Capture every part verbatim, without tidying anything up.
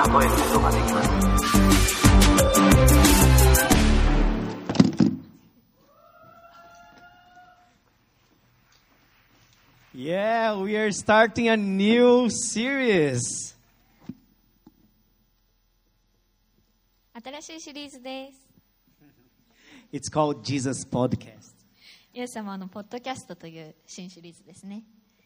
えることができます。 Yeah, we are starting a new series. 新しいシリーズです。 It's called Jesus Podcast. イエス様のポッドキャストという新シリーズですね。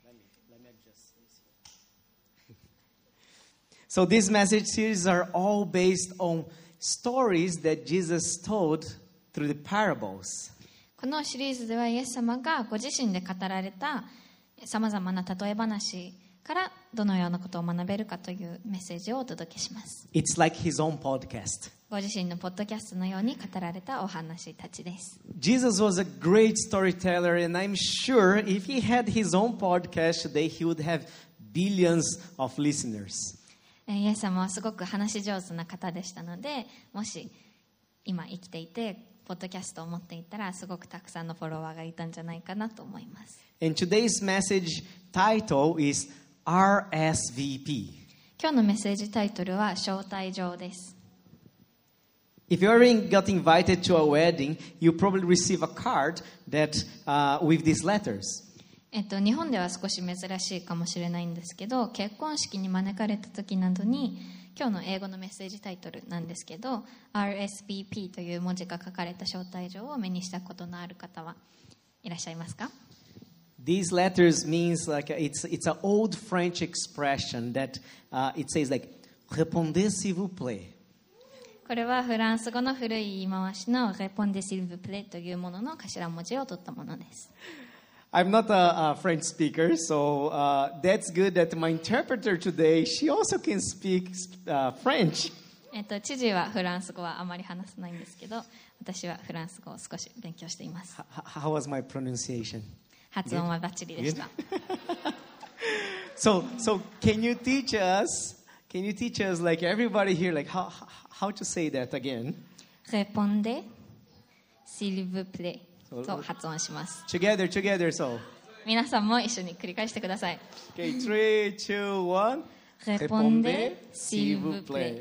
So these message series are all based on stories that Jesus told through the parables. このシリーズではイエス様がご自身で語られたさまざまな例え話からどのようなことを学べるかというメッセージをお届けします。 It's like his own podcast. ご自身のポッドキャストのように語られたお話たちです。 Jesus was a great storyteller, and I'm sure if he had his own podcast today, he would have billions of listeners. イエス様はすごく話し上手な方でしたので、もし今生きていてポッドキャストを持っていたらすごくたくさんのフォロワーがいたんじゃないかなと思います。 And today's message title is アールエスブイピー. 今日のメッセージタイトルは招待状です。 If you ever got invited to a wedding, you probably receive a card that uh, with these letters. えっと、日本では少し珍しいかもしれないんですけど、結婚式に招かれた時などに今日の英語のメッセージタイトルなんですけど アールエスブイピー という文字が書かれた招待状を目にしたことのある方はいらっしゃいますか？ These letters means like it's it's an old French expression that uh, it says like répondez s'il vous plaît. これはフランス語の古い言い回しの répondez s'il vous plaît というものの頭文字を取ったものです。 I'm not a, a French speaker, so uh, that's good that my interpreter today, she also can speak uh, French. えっと、知事はフランス語はあまり話せないんですけど、私はフランス語を少し勉強しています。 How was my pronunciation? 発音はバッチリでした。 so, so can you teach us? Can you teach us, like everybody here, like how how to say that again? Répondez s'il vous plaît. と発音します。 Together, together, so. 皆さんも一緒に繰り返してください。 Okay, three, two, one. Répondez s'il vous plaît.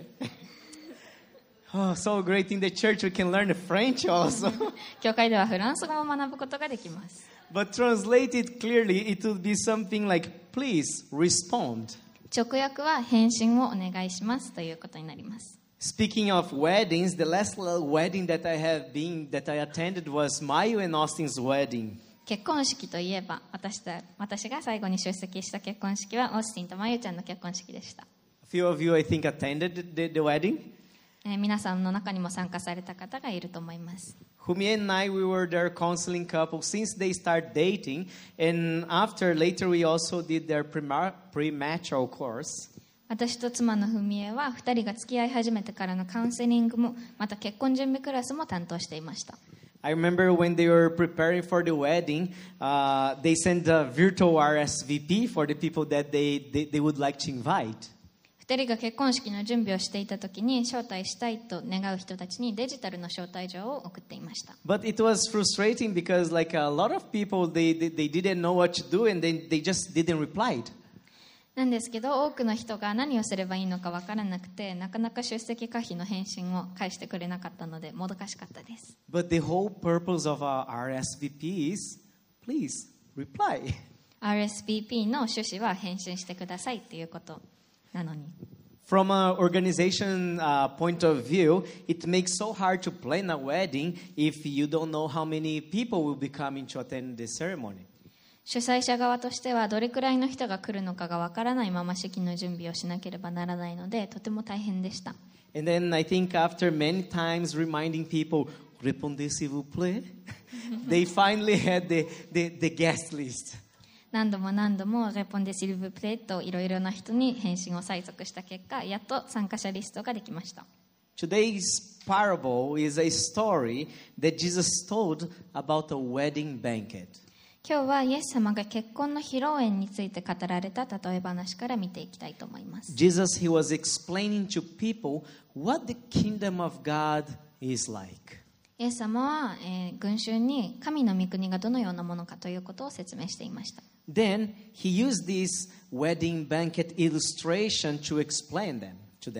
Oh, so great in the church we can learn French also. 教会ではフランス語を学ぶことができます。 But translated clearly, it would be something like, please respond. 直訳は返信をお願いしますということになります。 Speaking of weddings, the last wedding that I have been, that I attended was Mayu and Austin's wedding. 結婚式といえば、私た、私が最後に出席した結婚式はオースティンとマユちゃんの結婚式でした。 A few of you, I think, attended the, the wedding. えー、皆さんの中にも参加された方がいると思います。 Humi and I, we were their counseling couple since they started dating, and after later we also did their premarital course. 私と妻の文江はふたりが付き合い始めてからのカウンセリングもまた結婚準備クラスも担当していました。 I remember when they were preparing for the wedding, uh, they sent a virtual アールエスブイピー for the people that they, they, they would like to invite. ふたりが結婚式の準備をしていた時に招待したいと願う人たちにデジタルの招待状を送っていました。 But it was frustrating because like a lot of people, they, they, they didn't know what to do and they, they just didn't reply. なんですけど多くの人が何をすればいいのか分からなくてなかなか出席可否の返信を返してくれなかったのでもどかしかったです。 But the whole purpose of our アールエスブイピー is please reply. アールエスブイピー の趣旨は返信してくださいということなのに。 From an organization uh, point of view, it makes so hard to plan a wedding if you don't know how many people will be coming to attend the ceremony. 主催者側としてはどれくらいの人が来るのかがわからないまま式の準備をしなければならないのでとても大変でした。 And then I think after many times reminding people, répondez s'il vous plaît, they finally had the, the, the guest list. 何度も何度もレポンデシルブプレーといろいろな人に返信を催促した結果、やっと参加者リストができました。 Today's parable is a story that Jesus told about a wedding banquet. 今日はイエス様が結婚の披露宴について語られた例え話から見ていきたいと思います。 Jesus, he was explaining to people what the kingdom of God is like. イエス様は、えー、群衆に神の御国がどのようなものかということを説明していました。 Then he used this wedding banquet illustration to explain them to them.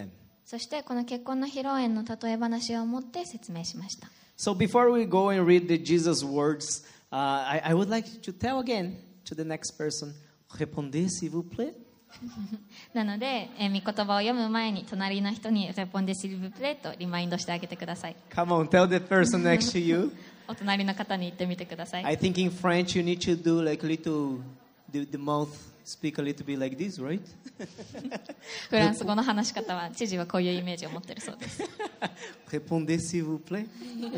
そしてこの結婚の披露宴の例え話を持って説明しました。 So before we go and read the Jesus words, uh, I, I would like to tell again to the next person, répondez s'il vous plaît. なので、えー、御言葉を読む前に隣の人にレポンデシルブプレとリマインドしてあげてください。 Come on, tell the person next to you. お隣の方に言ってみてください。 I think in French you need to do like a little, the, the mouth speak a little bit like this, right? フランス語の話し方は知事はこういうイメージを持っているそうです。 Répondez s'il vous plaît.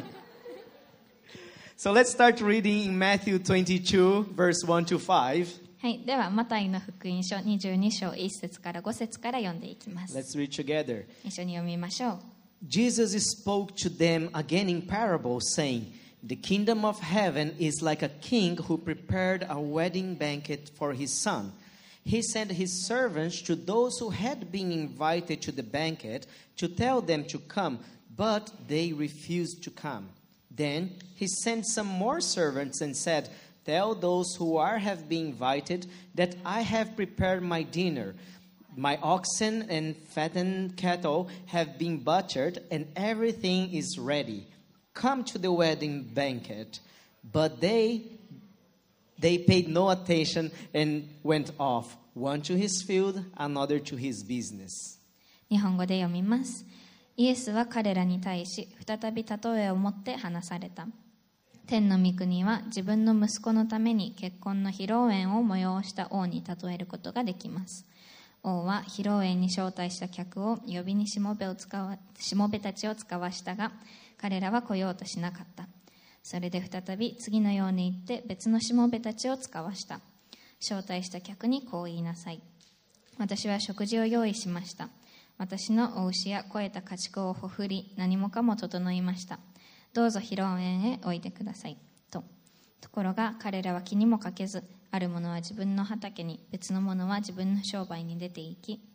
So let's start reading in Matthew twenty-two, verse one to five. はい、ではマタイの福音書にじゅうに章いち節からご節から読んでいきます。 Let's read together. 一緒に読みましょう。 Jesus spoke to them again in parables, saying, The kingdom of heaven is like a king who prepared a wedding banquet for his son. He sent his servants to those who had been invited to the banquet to tell them to come, but they refused to come. Then he sent some more servants and said, Tell those who are have been invited that I have prepared my dinner. My oxen and fattened cattle have been butchered, and everything is ready. Come to the wedding banquet. But they they paid no attention and went off, one to his field, another to his business. 日本語で読みます。イエスは彼らに対し再び例えを持って話された。天の御国は自分の息子のために結婚の披露宴を催した王に例えることができます。王は披露宴に招待した客を呼びにしもべを使わしもべたちを使わしたが、彼らは来ようとしなかった。それで再び次のように言って別のしもべたちを使わした。招待した客にこう言いなさい。私は食事を用意しました。私のお牛や肥えた家畜をほふり、何もかも整いました。どうぞ披露宴へおいでください。と。ところが彼らは気にもかけず、ある者は自分の畑に、別の者は自分の商売に出て行き。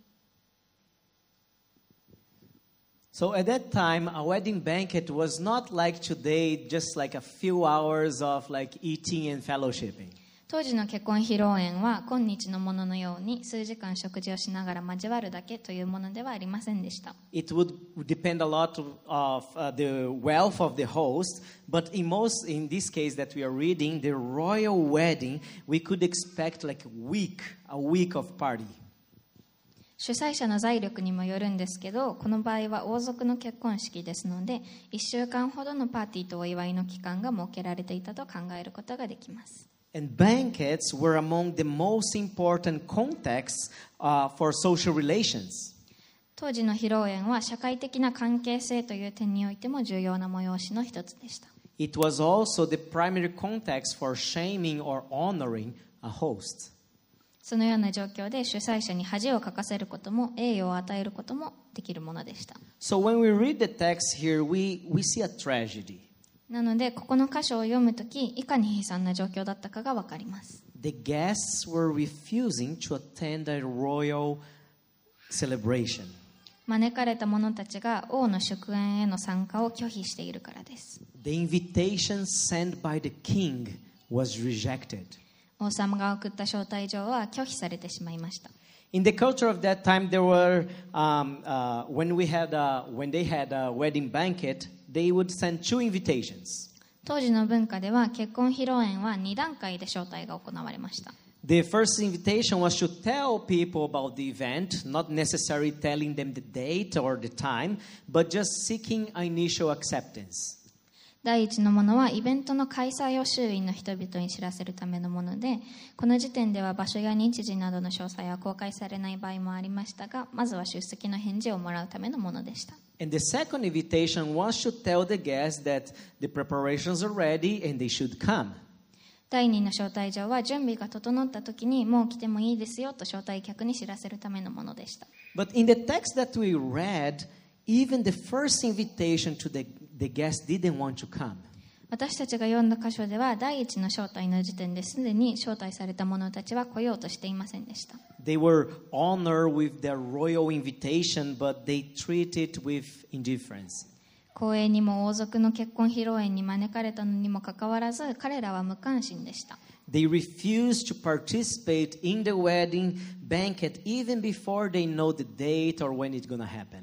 So at that time, a wedding banquet was not like today, just like a few hours of like eating and fellowshipping. 当時の結婚披露宴は今日のもののように数時間食事をしながら交わるだけというものではありませんでした。 It would depend a lot of uh, the wealth of the host, but in most, in this case that we are reading, the royal wedding, we could expect like a week, a week of party. 主催者の財力にもよるんですけど、この場合は王族の結婚式ですので、いっしゅうかんほどのパーティーとお祝いの期間が設けられていたと考えることができます。 And banquets were among the most important contexts uh, for social relations. 当時の披露宴は社会的な関係性という点においても重要な催しの一つでした。 It was also the primary context for shaming or honoring a host. そのような状況で主催者に恥をかかせることも栄誉を与えることもできるものでした。 So when we read the text here, we, we see a tragedy. なのでここの箇所を読むとき、いかに悲惨な状況だったかがわかります。 The guests were refusing to attend a royal celebration. 招かれた者たちが王の祝宴への参加を拒否しているからです。 The invitation sent by the king was rejected. 王様が送った招待状は拒否されてしまいました。 In the culture of that time, there were um, uh, when we had a, when they had a wedding banquet, they would send two invitations. 当時の文化では結婚披露宴はに段階で招待が行われました。 The first invitation was to tell people about the event, not necessarily telling them the date or the time, but just seeking initial acceptance. 第一のものはイベントの開催を周囲の人々に知らせるためのもので、この時点では場所や日時などの詳細は公開されない場合もありましたが、まずは出席の返事をもらうためのものでした。 And the second invitation was to tell the guests that the preparations are ready and they should come. 第二の招待状は準備が整った時にもう来てもいいですよと招待客に知らせるためのものでした。 But in the text that we read, even the first invitation to the, the guests didn't want to come. 私たちが読んだ箇所では第一の招待の時点ですでに招待された者たちは来ようとしていませんでした。 They were honored with their royal invitation, but they treated it with indifference. 公営にも王族の結婚披露宴に招かれたのにもかかわらず、彼らは無関心でした。 They refused to participate in the wedding banquet even before they know the date or when it's going to happen.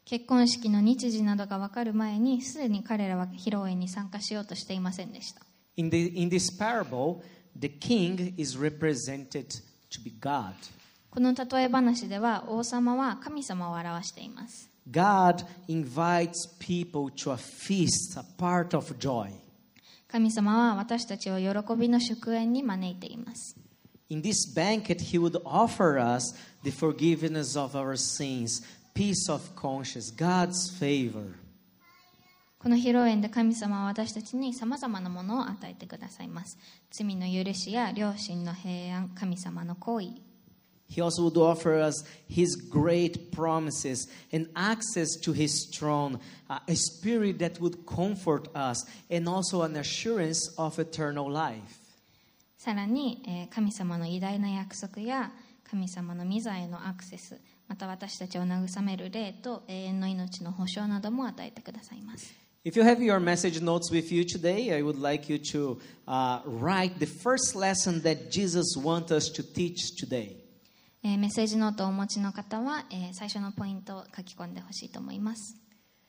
結婚式の日時などが分かる前に、すでに彼らは披露宴に参加しようとしていませんでした。 In, the, in this parable, the king is represented to be God. この例え話では、王様は神様を表しています。 God invites people to a feast, a part of joy. 神様は私たちを喜びの祝宴に招いています。 In this banquet, He would offer us the forgiveness of our sins, peace of conscience, God's favor. この披露宴で神様は私たちにさまざまなものを与えてくださいます。罪の許しや良心の平安、神様の行為。 He also would offer us His great promises and access to His throne, uh, a spirit that would comfort us, and also an assurance of eternal life. さらに、えー、神様の偉大な約束や神様の御座へのアクセス、また私たちを慰める霊と永遠の命の保証なども与えてくださいます。 If you have your message notes with you today, I would like you to uh, write the first lesson that Jesus wants us to teach today. えー、メッセージノートをお持ちの方は、えー、最初のポイントを書き込んでほしいと思います。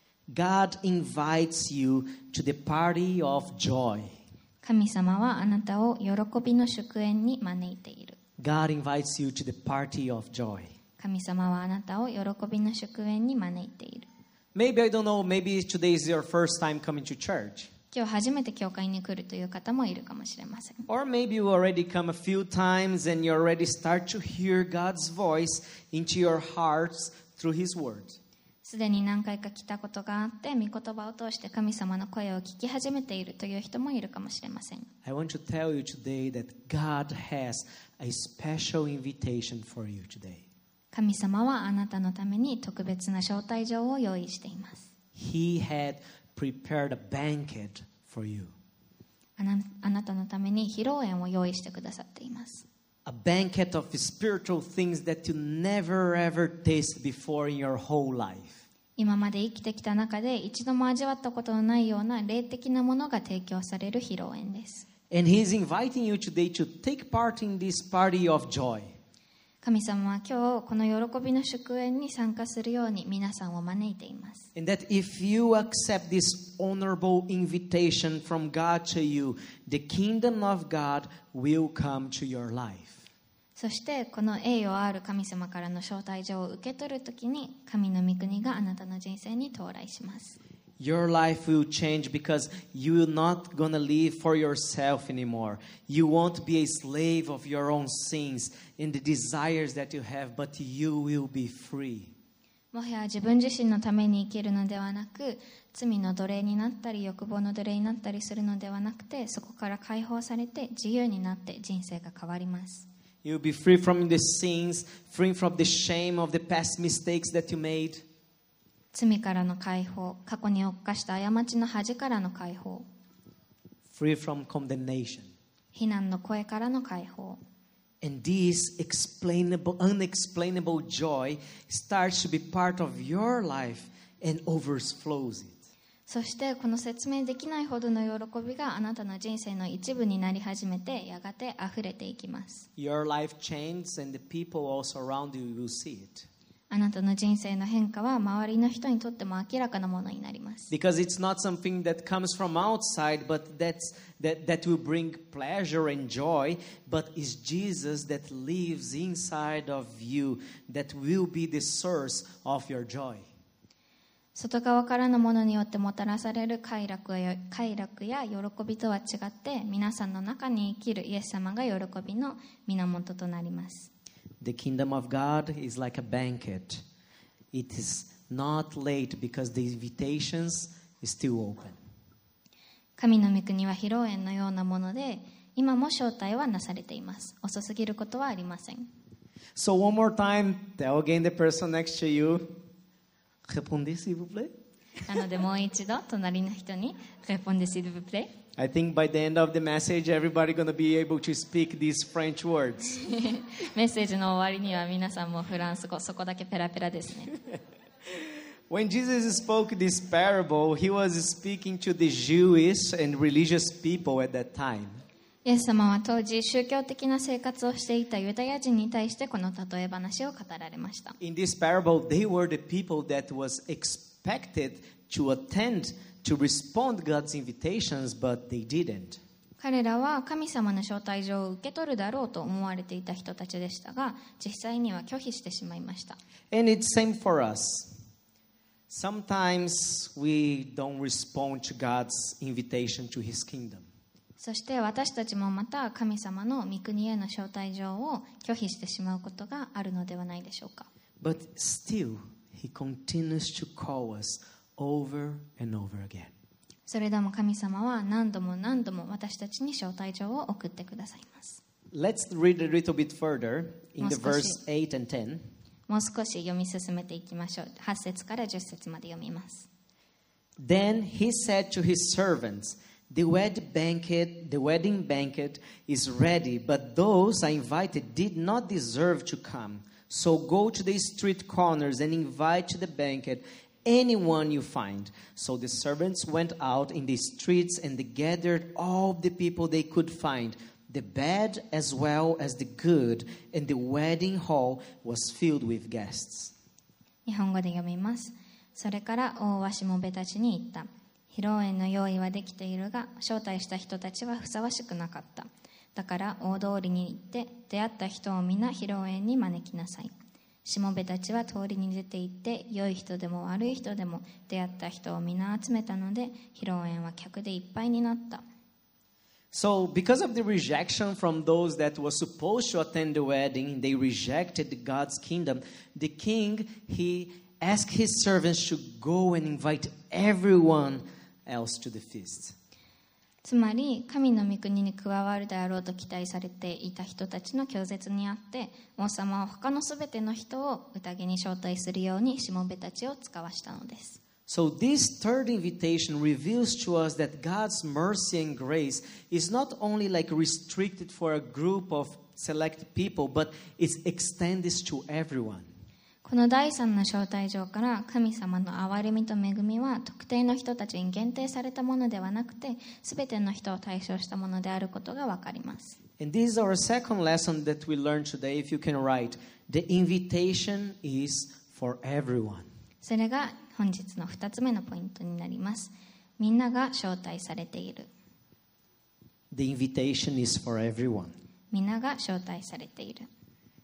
God invites you to the party of joy. 神様はあなたを喜びの祝宴に招いている。 God invites you to the party of joy. 神様はあなたを喜びの祝宴に招いている。 Maybe, I don't know, maybe today is your first time coming to church. 今日初めて教会に来るという方もいるかもしれません。 Or maybe you already come a few times and you already start to hear God's voice into your hearts through His Word. すでに何回か来たことがあって、御言葉を通して神様の声を聞き始めているという人もいるかもしれません。 I want to tell you today that God has a special invitation for you today. 神様はあなたのために特別な招待状を用意しています。 He had prepared a banquet for you. あな、あなたのために披露宴を用意してくださっています。 A banquet of spiritual things that you never ever tasted before in your whole life. 今まで生きてきた中で一度も味わったことのないような霊的なものが提供される披露宴です。 And He is inviting you today to take part in this party of joy. 神様は今日この喜びの祝宴に参加するように皆さんを招いています。 And that if you accept this honorable invitation from God to you, the kingdom of God will come to your life. そしてこの栄誉ある神様からの招待状を受け取るときに神の御国があなたの人生に到来します。 Your life will change because you're not going to live for yourself anymore. You won't be a slave of your own sins and the desires that you have, but you will be free. もはや自分自身のために生きるのではなく、罪の奴隷になったり欲望の奴隷になったりするのではなくて、そこから解放されて自由になって人生が変わります。 You'll be free from the sins, free from the shame of the past mistakes that you made. 罪からの解放、過去に犯した過ちの恥からの解放、 Free from condemnation. 非難の声からの解放。 And this explainable, unexplainable joy starts to be part of your life and overflows it. そしてこの説明できないほどの喜びがあなたの人生の一部になり始めて、やがて溢れていきます。 Your life changes and the people also around you will see it. あなたの人生の変化は周りの人にとっても明らかなものになります。 Because it's not something that comes from outside, but that's, that, that will bring pleasure and joy, but it's Jesus that lives inside of you that will be the source of your joy. 外側からのものによってもたらされる快楽や、快楽や喜びとは違って、皆さんの中に生きるイエス様が喜びの源となります。 The kingdom of God is like a banquet. It is not late because the invitations is still open. 神の御国は披露宴のようなもので、今も招待はなされています。遅すぎることはありません。 So one more time, tell again the person next to you. Répondez s'il vous plaît. なのでもう一度隣の人にrépondez s'il vous plaît. I think by the end of the message, everybody going to be able to speak these French words. メッセージの終わりには皆さんもフランス語、そこだけペラペラですね。 When Jesus spoke this parable, he was speaking to the Jewish and religious people at that time. イエス様は当時宗教的な生活をしていたユダヤ人に対してこの例え話を語られました。 In this parable, they were the people that was expected to attend, to respond God's invitations, but they didn't. 彼らは神様の招待状を受け取るだろうと思われていた人たちでしたが、実際には拒否してしまいました。 And it's same for us. Sometimes we don't respond to God's invitation to His kingdom. そして私たちもまた神様の御国への招待状を拒否してしまうことがあるのではないでしょうか。 But still, He continues to call us over and over again. それでも神様は何度も何度も私たちに招待状を送ってくださいます。 Let's read a little bit further in the もう少し。 verse eight and ten. もう少し読み進めていきましょう。はち節からじゅっ節まで読みます。 Then he said to his servants, The wedding banquet, the wedding banquet is ready, but those I invited did not deserve to come. So go to the street corners and invite to the banquet anyone you find. So the servants went out in the streets and they gathered all the people they could find, the bad as well as the good, and the wedding hall was filled with guests. 日本語で読みます。それから王はしもべたちに言った。披露宴の用意はできているが、招待した人たちはふさわしくなかった。だから大通りに行って出会った人を皆披露宴に招きなさい。しもべたちは通りに出て行って、良い人でも悪い人でも出会った人を皆集めたので、披露宴は客でいっぱいになった。 So, because of the rejection from those that were supposed to attend the wedding, they rejected God's kingdom. The king, he asked his servants to go and invite everyone else to the feast. つまり神の御国に加わるであろうと期待されていた人たちの拒絶にあって、王様は他のすべての人を宴に招待するようにしもべたちを使わしたのです。 So this third invitation reveals to us that God's mercy and grace is not only like restricted for a group of select people, but it's extended to everyone. この第三の招待状から神様の憐れみと恵みは特定の人たちに限定されたものではなくて、すべての人を対象したものであることがわかります。 And this is our second lesson that we learned today. If you can write, the invitation is for everyone. それが本日の二つ目のポイントになります。みんなが招待されている。 The invitation is for everyone. みんなが招待されている。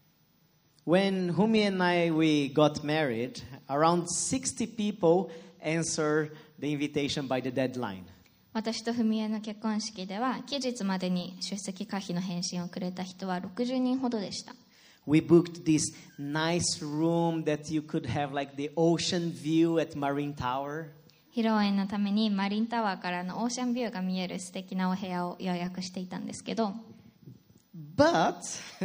When Humi and I we got married, around sixty people answered the invitation by the deadline. 私と文江の結婚式では期日までに出席可否の返信をくれた人はろくじゅうにんほどでした。 We booked this nice room that you could have like the ocean view at Marine Tower. 披露宴のためにマリンタワーからのオーシャンビューが見える素敵なお部屋を予約していたんですけど、 But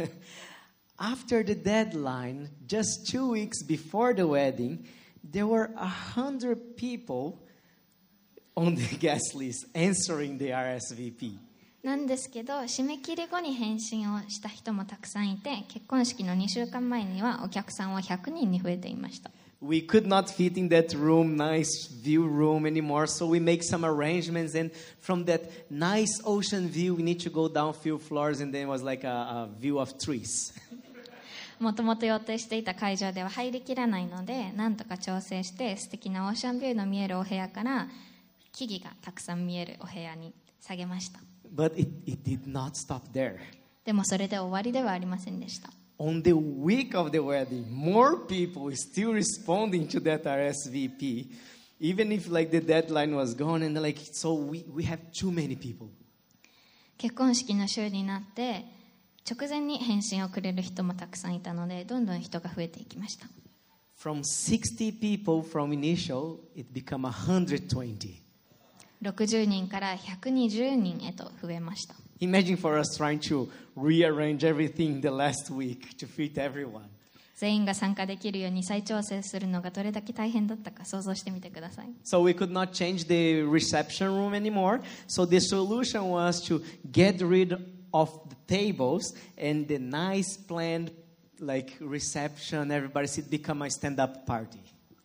after the deadline, just two weeks before the wedding, there were a hundred people on the guest list answering the R S V P. なんですけど、締め切り後に返信をした人もたくさんいて、結婚式のにしゅうかんまえにはお客さんはひゃくにんに増えていました。 We could not fit in that room, nice view room anymore, so we make some arrangements, and from that nice ocean view, we need to go down a few floors, and then it was like a, a view of trees. もともと予定していた会場では入りきらないので、なんとか調整して素敵なオーシャンビューの見えるお部屋から木々がたくさん見えるお部屋に下げました。 But it, it did not stop there. でもそれで終わりではありませんでした。 On the week of the wedding, more people were still responding to that R S V P, even if like the deadline was gone, and like so we, we have too many people. 結婚式の週になって直前に返信をくれる人もたくさんいたので、どんどん人が増えていきました。 From sixty people from initial, it became one hundred twenty. ろくじゅうにんからひゃくにじゅうにんへと増えました。 Imagine for us trying to rearrange everything the last week to fit everyone. 全員が参加できるように再調整するのがどれだけ大変だったか想像してみてください。 So we could not change the reception room anymore. So the solution was to get rid of the tables and the nice planned like reception, everybody sit, become a stand-up party.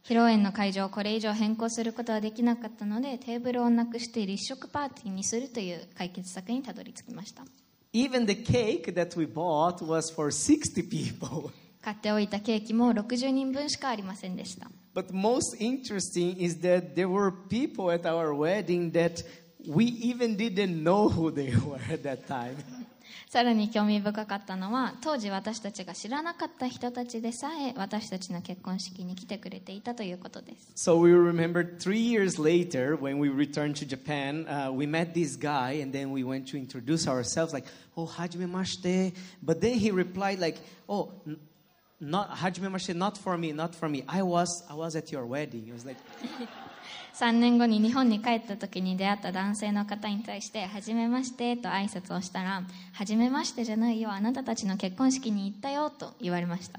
披露宴の会場をこれ以上変更することはできなかったので、テーブルをなくして立食パーティーにするという解決策にたどり着きました。 Even the cake that we bought was for sixty people. 買っておいたケーキもろくじゅうにんぶんしかありませんでした。 But most interesting is that there were people at our wedding that we even didn't know who they were at that time. さらに興味深かったのは、当時私たちが知らなかった人たちでさえ私たちの結婚式に来てくれていたということです。 So we remember three years later when we returned to Japan, uh, we met this guy and then we went to introduce ourselves like, oh, hajimemashite. But then he replied like, oh, n- not hajimemashite, not for me, not for me. I was, I was at your wedding. It was like, さんねんごに日本に帰った時に出会った男性の方に対して、はじめましてと挨拶をしたら、はじめましてじゃないよ、あなたたちの結婚式に行ったよと言われました。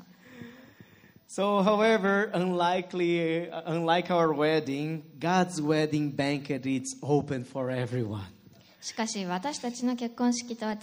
so however, unlikely, uh, unlike our wedding, God's wedding banquet is open for everyone. しかし私たちの結婚式とは違って、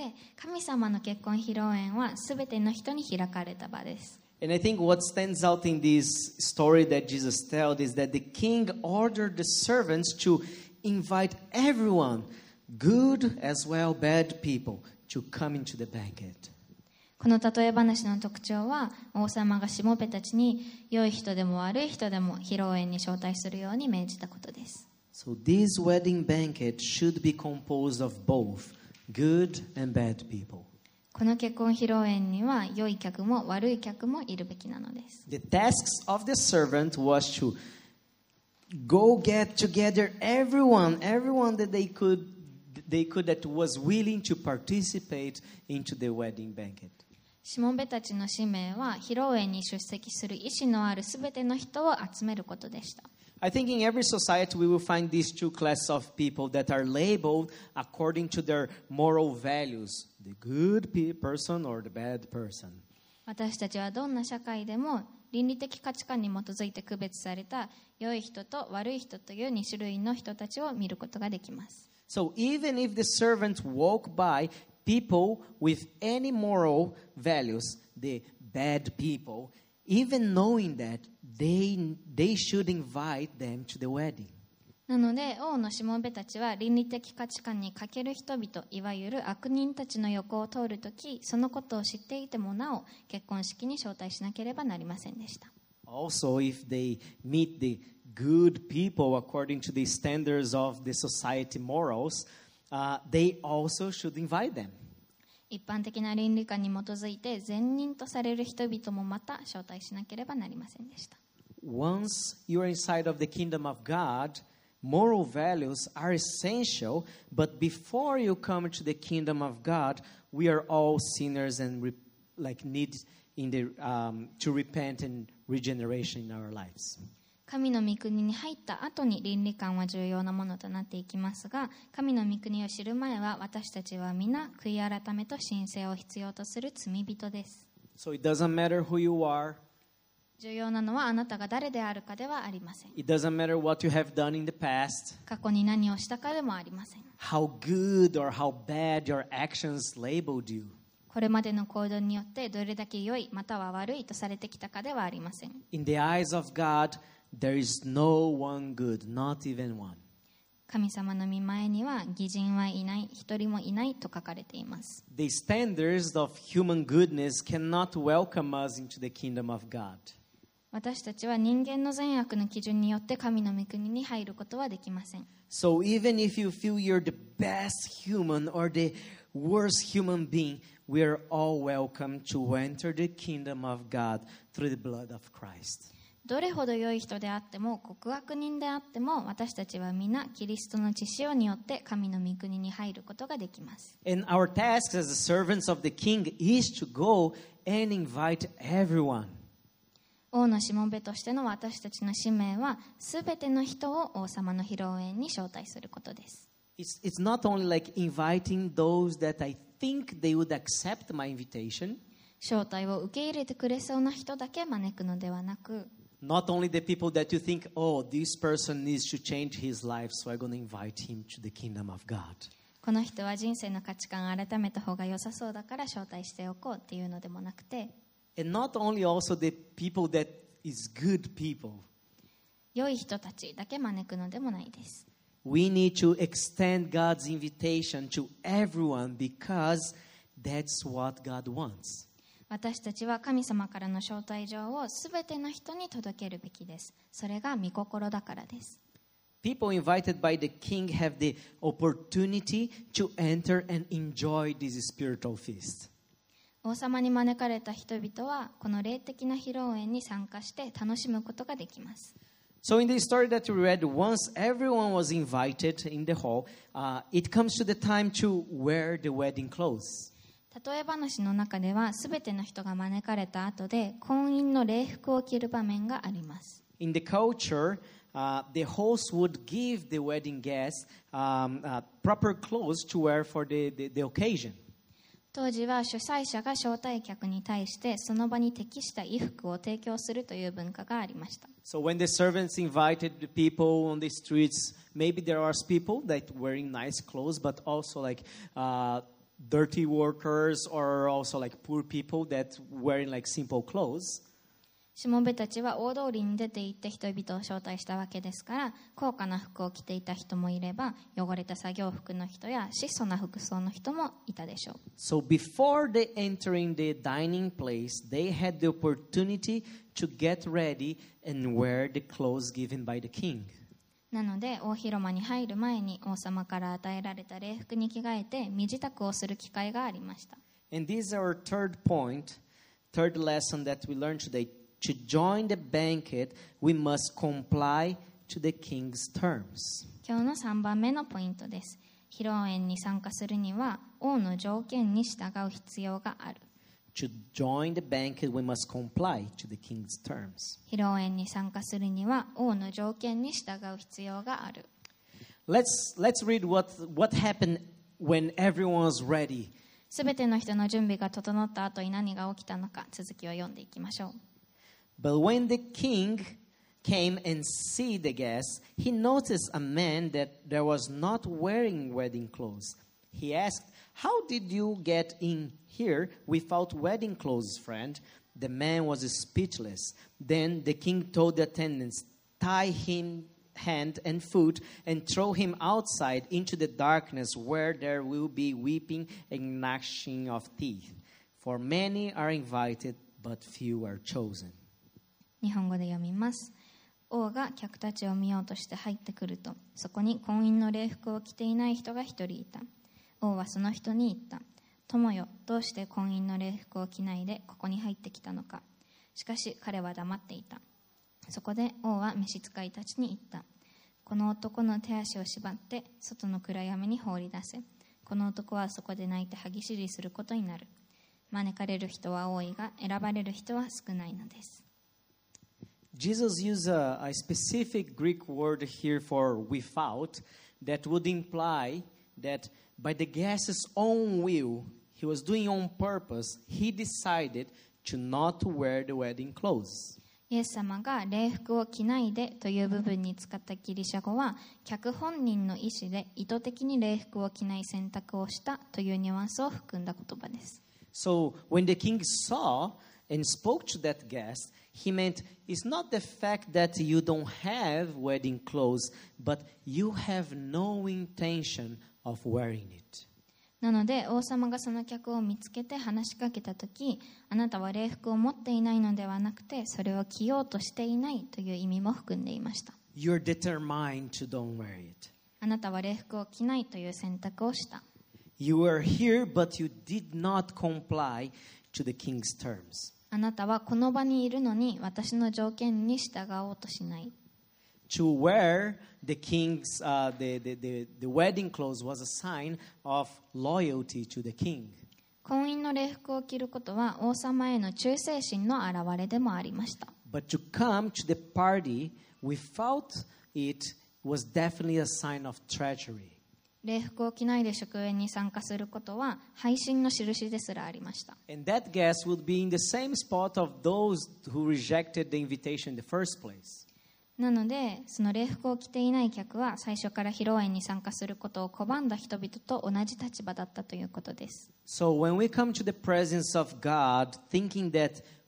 神様の結婚披露宴は全ての人に開かれた場です。 And I think what stands out in this story that Jesus told is that the king ordered the servants to invite everyone, good as well bad people, to come into the banquet. この例え話の特徴は、王様がしもべたちに良い人でも悪い人でも披露宴に招待するように命じたことです。 So this wedding banquet should be composed of both good and bad people. この結婚披露宴には良い客も悪い客もいるべきなのです。 The tasks of the servant was to go get together everyone, everyone that they could, they could that was willing to participate into the wedding banquet. しもべたちの使命は、披露宴に出席する意思のあるすべての人を集めることでした。 I think in every society we will find these two classes of people that are labeled according to their moral values, the good pe- person or the bad person. 私たちはどんな社会でも倫理的価値観に基づいて区別された良い人と悪い人というに種類の人たちを見ることができます。 So even if the servant walk by people with any moral values, the bad people, even knowing that they, they should invite them to the wedding. なので王のしもべたちは倫理的価値観に欠ける人々、いわゆる悪人たちの横を通るとき、そのことを知っていてもなお結婚式に招待しなければなりませんでした。 Also, if they meet the good people according to the standards of the society morals, uh, they also should invite them. 一般的な倫理観に基づいて善人とされる人々もまた招待しなければなりませんでした。 Once you are inside of the kingdom of God, moral values are essential, but before you come to the kingdom of God, we are all sinners and re- like need in the um, to repent and regeneration in our lives. 神の御国に入った後に倫理観は重要なものとなっていきますが、神の御国を知る前は私たちは皆悔い改めと神聖を必要とする罪人です。 So it doesn't matter who you are. 重要なのはあなたが誰であるかではありません。 It doesn't matter what you have done in the past. 過去に何をしたかでもありません。 How good or how bad your actions labeled you. これまでの行動によってどれだけ良いまたは悪いとされてきたかではありません。 In the eyes of God, there is no one good, not even one. 神様の御前には義人はいない、一人もいないと書かれています。 The standards of human goodness cannot welcome us into the kingdom of God. 私たちは人間の善悪の基準によって神の御国に入ることはできません。 So even if you feel you're the best human or the worst human being, we are all welcome to enter the kingdom of God through the blood of Christ. どれほど良い人であっても極悪人であっても私たちは皆キリストの血潮によって神の御国に入ることができます。 And our task as the servants of the king is to go and invite everyone. 王のしもべとしての私たちの使命はすべての人を王様の披露宴に招待することです。 It's, it's not only like inviting those that I think they would accept my invitation. 招待を受け入れてくれそうな人だけ招くのではなく、 Not only the people that you think, oh, this person needs to change his life, so I'm going to invite him to the kingdom of God. この人は人生の価値観を改めた方が良さそうだから招待しておこうっていうのでもなくて、 And not only also the people that is good people, 良い人たちだけ招くのでもないです。 We need to extend God's invitation to everyone because that's what God wants. 私たちは神様からの招待状をすべての人に届けるべきです。それが御心だからです。 People invited by the king have the opportunity to enter and enjoy this spiritual feast. 王様に招かれた人々はこの霊的な披露宴に参加して楽しむことができます。 So in the story that we read, once everyone was invited in the hall, uh, it comes to the time to wear the wedding clothes. 例え話の中ではすべての人が招かれた後で婚姻の礼服を着る場面があります。 In the culture, uh, the host would give the wedding guests um, uh, proper clothes to wear for the, the, the occasion. 当時は主催者が招待客に対してその場に適した衣服を提供するという文化がありました。 So when the servants invited the people on the streets, maybe there are people that wearing nice clothes, but also like uh, dirty workers or also like poor people that wearing like simple clothes. しもべたちは大通りに出て行って人々を招待したわけですから、高価な服を着ていた人もいれば、汚れた作業服の人や質素な服装の人もいたでしょう。 So before they entering the dining place, they had the opportunity to get ready and wear the clothes given by the king. なので大広間に入る前に王様から与えられた礼服に着替えて身支度をする機会がありました。 And this is our third point, third lesson that we learned today. To join the banquet, we must comply to the king's terms. 今日のさんばんめのポイントです。披露宴に参加するには王の条件に従う必要がある。 To join the banquet, we must comply to the king's terms. 披露宴に参加するには王の条件に従う必要がある。 Let's, let's read what, what happened when everyone was ready. すべての人の準備が整った後に何が起きたのか、続きを読んでいきましょう。 But when the king came and see the guests, he noticed a man that there was not wearing wedding clothes. He asked, "How did you get in here without wedding clothes, friend?" The man was speechless. Then the king told the attendants, "Tie him hand and foot and throw him outside into the darkness where there will be weeping and gnashing of teeth. For many are invited, but few are chosen." 日本語で読みます。王が客たちを見ようとして入ってくると、そこに婚姻の礼服を着ていない人が一人いた。王はその人に言った。友よ、どうして婚姻の礼服を着ないでここに入ってきたのか。しかし彼は黙っていた。そこで王は召使いたちに言った。この男の手足を縛って外の暗闇に放り出せ。この男はそこで泣いて歯ぎしりすることになる。招かれる人は多いが選ばれる人は少ないのです。 Jesus used a, a specific Greek word here for without that would imply that by the guest's own will, he was doing on purpose, he decided to not wear the wedding clothes. イエス様が礼服を着ないでという部分に使ったギリシャ語は、客本人の意思で意図的に礼服を着ない選択をしたというニュアンスを含んだ言葉です。 So when the king saw and spoke to that guest, he meant it's not the fact that you don't have wedding clothes, but you have no intention of wearing it. なので王様がその客を見つけて話しかけたとき、あなたは礼服を持っていないのではなくて、それを着ようとしていないという意味も含んでいました。 You're determined to don't wear it. あなたは礼服を着ないという選択をした。 You were here, but you did not comply to the king's terms. あなたはこの場にいるのに私の条件に従おうとしない。 To wear the king's uh, the, the, the, the wedding clothes was a sign of loyalty to the king. 婚姻の礼服を着ることは王様への忠誠心の表れでもありました。 But to come to the party without it was definitely a sign of treachery. 礼服を着ないで祝宴に参加することは背信の印ですらありました。 And that guest would be in the same spot of those who rejected the invitation in the first place. なので、その礼服を着ていない客は最初から披露宴に参加することを拒んだ人々と同じ立場だったということです。 So when we come to the presence of God, thinking that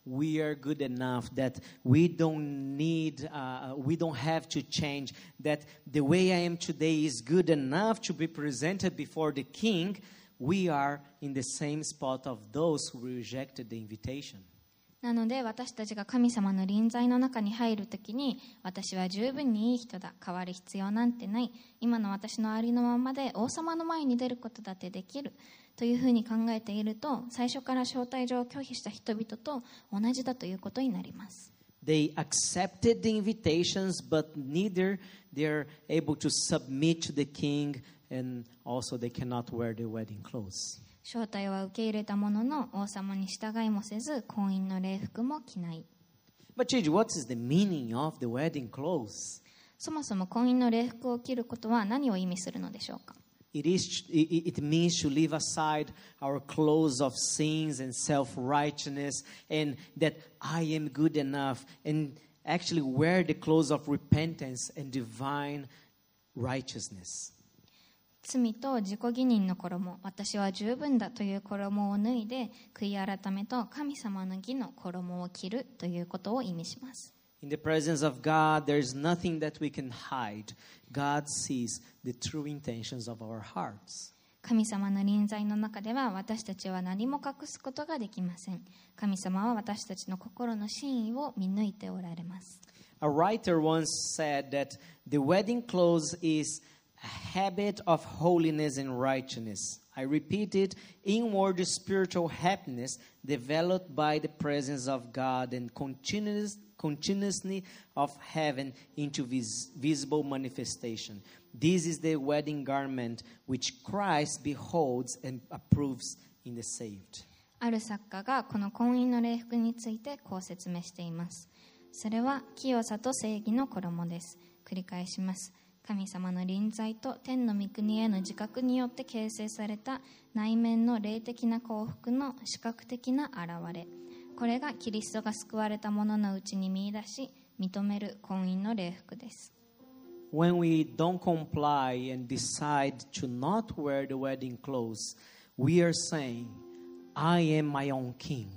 we are good enough, that we don't need, uh, we don't have to change, that the way I am today is good enough to be presented before the king, we are in the same spot of those who rejected the invitation. なので私たちが神様の臨在の中に入るときに、私は十分にいい人だ、変わる必要なんてない、今の私のありのままで王様の前に出ることだってできるというふうに考えていると、最初から招待状を拒否した人々と同じだということになります。 They accepted the invitations, but neither they're able to submit to the king, and also they cannot wear the wedding clothes. 招待は受け入れたものの、王様に従いもせず、婚姻の礼服も着ない。 But Gigi, what is the meaning of the wedding clothes? そもそも婚姻の礼服を着ることは何を意味するのでしょうか。 It is. It means to leave aside our clothes of sins and self-righteousness, and that I am good enough, and actually wear the clothes of repentance and divine righteousness. 罪と自己義認の衣、私は十分だという衣を脱いで、悔い改めと神様の義の衣を着るということを意味します。 In the presence of God, there is nothing that we can hide. God sees the true intentions of our hearts. 神様の臨在の中では私たちは何も隠すことができません。神様は私たちの心の真意を見抜いておられます。 A writer once said that the wedding clothes is a habit of holiness and righteousness. I repeat it, inward spiritual happiness developed by the presence of God and continuous, continuously of heaven into vis, visible manifestation. This is the wedding garment which Christ beholds and approves in the saved. ある作家がこの婚姻の礼服についてこう説明しています。それは清さと正義の衣です。繰り返します。神様の臨在と天の御国への自覚によって形成された内面の霊的な幸福の視覚的な現れ、これがキリストが救われた者のうちに見出し認める婚姻の礼服です。 When we don't comply and decide to not wear the wedding clothes, we are saying, I am my own king.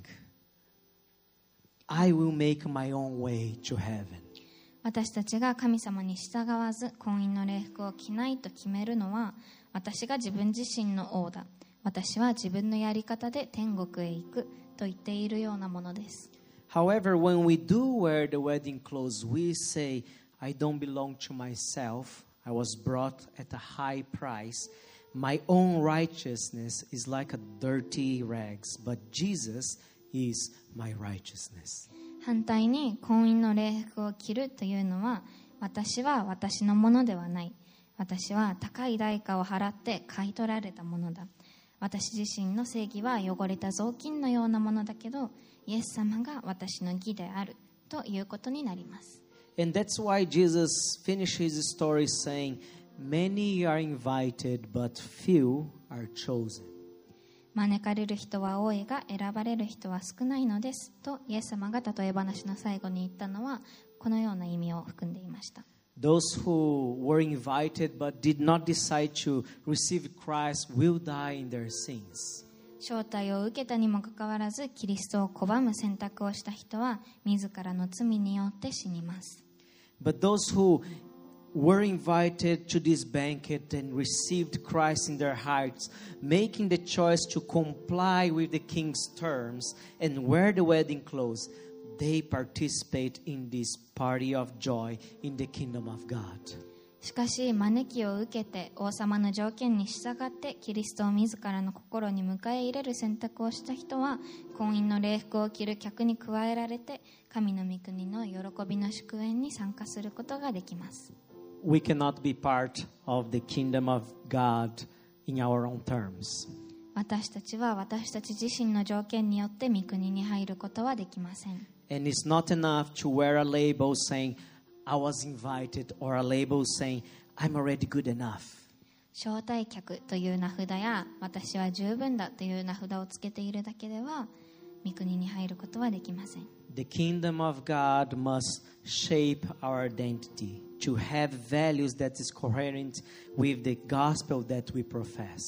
I will make my own way to heaven. 私たちが神様に従わず婚姻の礼服を着ないと決めるのは、私が自分自身の王だ、私は自分のやり方で天国へ行くと言っているようなものです。 However, when we do wear the wedding clothes, we say, I don't belong to myself. I was bought at a high price. My own righteousness is like a dirty rags, but Jesus is my righteousness. 反対に婚姻の礼服を着るというのは、私は私のものではない、私は高い代価を払って買い取られたものだ、私自身の正義は汚れた雑巾のようなものだけど、イエス様が私の義であるということになります。 And that's why Jesus finished his story saying, Many are invited, but few are chosen. 招かれる人は多いが選ばれる人は少ないのですと、イエス様が例え話の最後に言ったのはこのような意味を含んでいました。 Those who were invited but did not decide to receive Christ will die in their sins. 招待を受けたにもかかわらずキリストを拒む選択をした人は自らの罪によって死にます。 But those who were invited to this banquet and received Christ in their hearts, making the choice to comply with the king's terms and wear the wedding clothes, they participate in this party of joy in the kingdom of God. しかし招きを受けて王様の条件に従ってキリストを自らの心に迎え入れる選択をした人は、婚姻の礼服を着る客に加えられて神の御国の喜びの祝宴に参加することができます。 We cannot be part of the kingdom of God in our own terms. 私たちは私たち自身の条件によって御国に入ることはできません。 And it's not enough to wear a label saying, I was invited, or a label saying, I'm already good enough. 招待客という名札や私は十分だという名札をつけているだけでは御国に入ることはできません。 The kingdom of God must shape our identity to have values that is coherent with the gospel that we profess.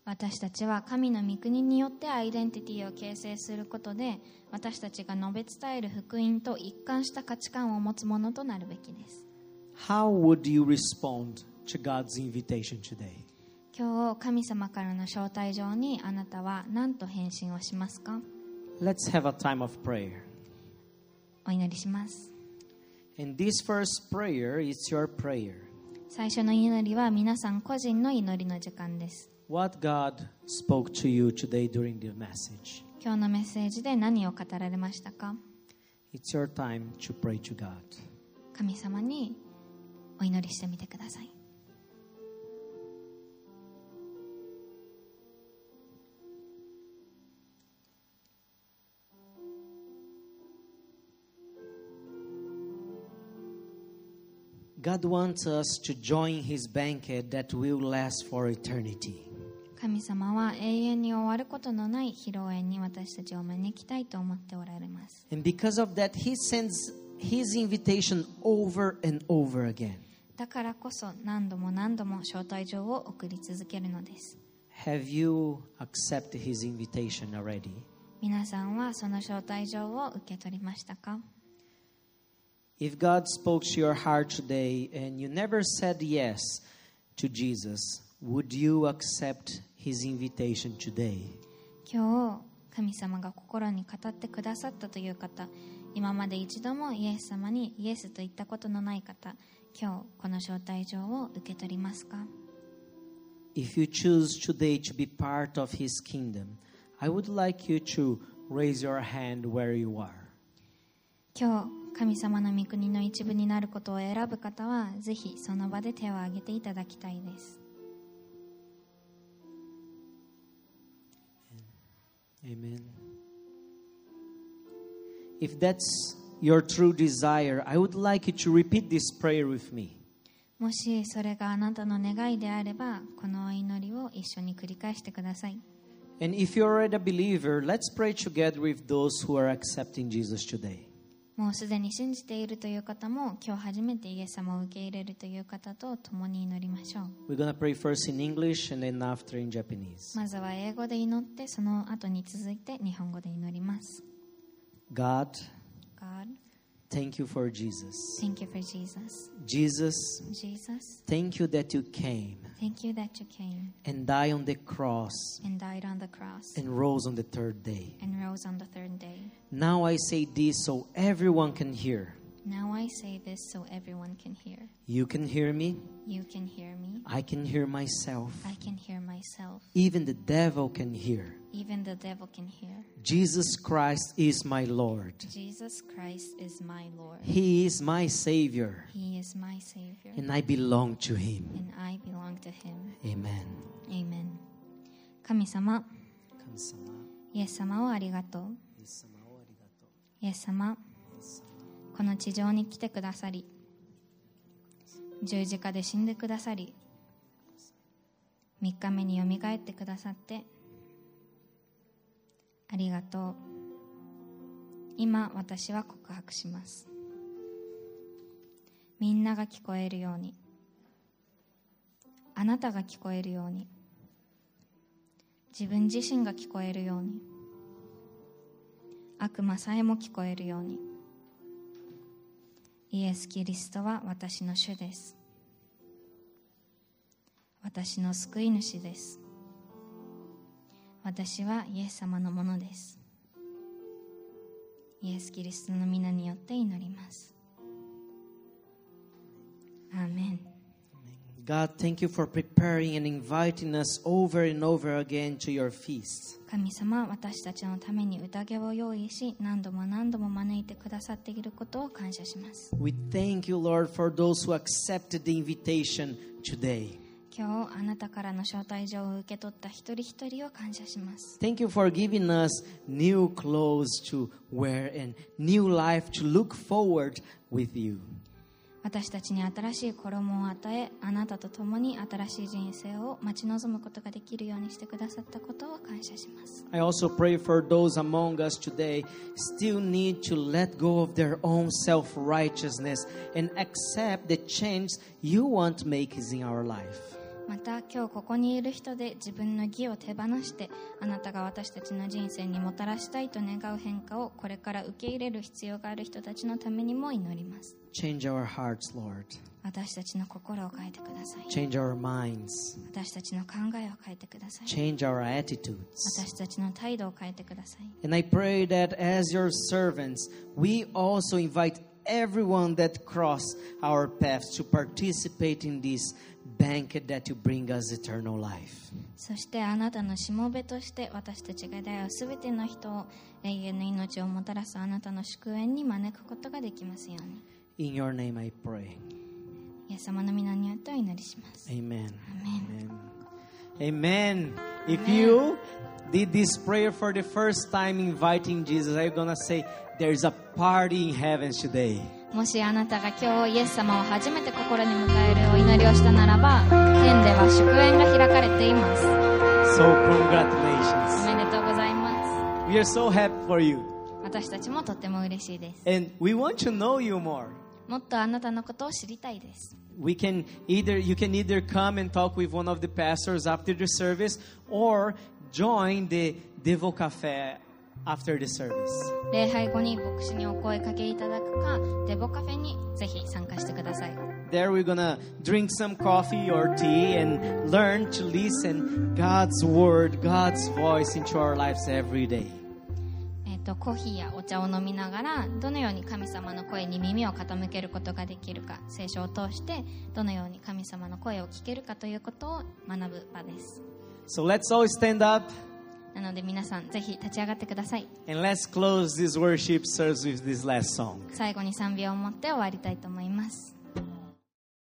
私たちは神の御国によってアイデンティティを形成することで、私たちが述べ伝える福音と一貫した価値観を持つものとなるべきです。 How would you respond to God's invitation today? 今日神様からの招待状にあなたは何と返信をしますか？ Let's have a time of prayer. お祈りします。 And this first prayer is your prayer. 最初の祈りは皆さん個人の祈りの時間です。 What God spoke to you today during the message. 今日のメッセージで何を語られましたか？ It's your time to pray to God. 神様にお祈りしてみてください。 God wants us to join His banquet that will last for eternity. 神様は永遠に終わることのない披露宴に私たちを招きたいと思っておられます。 And because of that, He sends His invitation over and over again. だからこそ何度も何度も招待状を送り続けるのです。 Have you accepted His invitation already? 皆さんはその招待状を受け取りましたか？ If God spoke to your heart today and you never said yes to Jesus, would you accept His invitation today? 今日神様が心に語ってくださったという方、今まで一度もイエス様にイエスと言ったことのない方、今日この招待状を受け取りますか？ If you choose today to be part of His kingdom, I would like you to raise your hand where you are. 今日神様の御国の一部になることを選ぶ方はぜひその場で手を挙げていただきたいです。 Amen. If that's your true desire, I would like you to repeat this prayer with me. もしそれがあなたの願いであれば、このお祈りを一緒に繰り返してください。 And if you're already a believer, let's pray together with those who are accepting Jesus today. もうすでに信じているという方も、今日初めてイエス様を受け入れるという方と共に祈りましょう。 We're going to pray first in English and then after in Japanese. まずは英語で祈って、その後に続いて日本語で祈ります。 God, God, thank you for Jesus. thank you for Jesus. Jesus, Jesus, thank you that you came thank you that you came and died on the cross and died on the cross and rose on the third day. and rose on the third day. Now I say this so everyone can hear. Now I say this so everyone can hear. You can hear me. You can hear me. I can hear myself. I can hear myself. Even the devil can hear. Even the devil can hear. Jesus Christ is my Lord. Jesus Christ is my Lord. He is my Savior. He is my Savior. And I belong to Him. And I belong to Him. Amen. Amen. 神様、 神様、 イエス様をありがとう。 イエス様をありがとう。 イエス様、この地上に来てくださり、十字架で死んでくださり、三日目によみがえってくださってありがとう。今私は告白します。みんなが聞こえるように、あなたが聞こえるように、自分自身が聞こえるように、悪魔さえも聞こえるように、イエス・キリストは私の主です。私の救い主です。私はイエス様のものです。イエス・キリストの皆によって祈ります。アーメン。 God, thank you for preparing and inviting us over and over again to your feast. 神様、私たちのために宴を用意し、何度も何度も招いてくださっていることを感謝します。 We thank you, Lord, for those who accepted the invitation today. 今日あなたからの招待状を受け取った一人一人を感謝します。 Thank you for giving us new clothes to wear and new life to look forward with you. 私たちに新しい衣を与え、あなたと共に新しい人生を待ち望むことができるようにしてくださったことを感謝します。 I also pray for those among us today still need to let go of their own self-righteousness and accept the change you want to make in our life. また今日ここにいる人で自分の義を手放してあなたが私たちの人生にもたらしたいと願う変化をこれから受け入れる必要がある人たちのためにも祈ります。 Change our hearts, Lord. 私たちの心を変えてください。 Change our minds. 私たちの考えを変えてください。 Change our attitudes. 私たちの態度を変えてください。 And I pray that as your servants, we also invite everyone that cross our paths to participate in this banquet that you bring us eternal life. そしてあなたのしもべとして私たちが出会うすべての人を永遠の命をもたらすあなたの祝宴に招くことができますように。 In your name I pray. イエス様の皆によってお祈りします。 Amen. Amen. Amen. If you did this prayer for the first time inviting Jesus, I'm going to say there's a party in heaven today. もしあなたが今日イエス様を初めて心に迎えるお祈りをしたならば、天では祝宴が開かれています。 So お congratulations. めでとうございます。 We are so happy for you. 私たちもとっても嬉しいです。 And we want to know you more. もっとあなたのことを知りたいです。 We can either you can either come and talk with one of the pastors after the service or join the Devo Cafe after the service. 礼拝後に牧師にお声かけいただくか、デボカフェにぜひ参加してください。 There we're gonna drink some coffee or tea and learn to listen God's word, God's voice into our lives every day. えっと、コーヒーやお茶を飲みながらどのように神様の声に耳を傾けることができるか、聖書を通してどのように神様の声を聞けるかということを学ぶ場です。 So let's all stand up なので皆さんぜひ立ち上がってください。 and let's close this worship service with this last song. 最後に賛美を持って終わりたいと思います。